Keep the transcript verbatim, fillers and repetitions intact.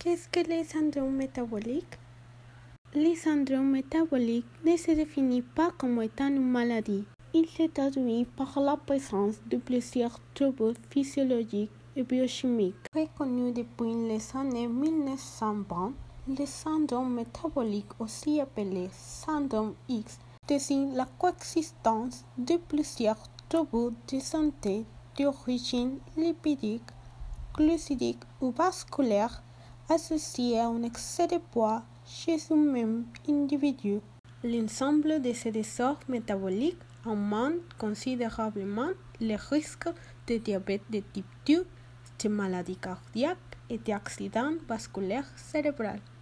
Qu'est-ce que le syndrome métabolique? Le syndrome métabolique ne se définit pas comme étant une maladie. Il se traduit par la présence de plusieurs troubles physiologiques et biochimiques. Reconnu depuis les années mille neuf cent vingt, le syndrome métabolique, aussi appelé syndrome X, désigne la coexistence de plusieurs troubles de santé d'origine lipidique, glucidique ou vasculaire associés à un excès de poids chez un même individu. L'ensemble de ces désordres métaboliques augmente considérablement les risques de diabète de type deux, de maladies cardiaques et d'accidents vasculaires cérébraux.